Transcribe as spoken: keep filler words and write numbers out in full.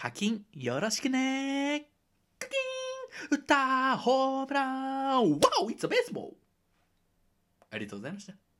課金よろしくね。課金打ったホームラン、ワオ、It's a baseball。ありがとうございました。